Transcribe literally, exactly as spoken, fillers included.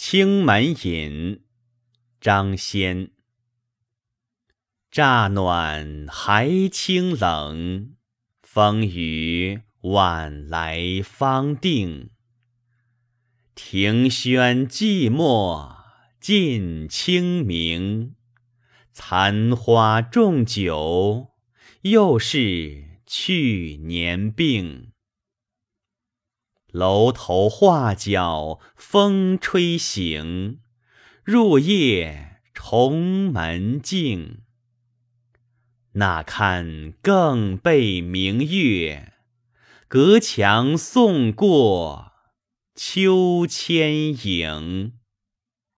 青门饮，张先。乍暖还清冷，风雨晚来方定。庭轩寂寞近清明，残花重酒，又是去年病。楼头画角风吹醒，入夜重门静。那看更被明月，隔墙送过秋千影。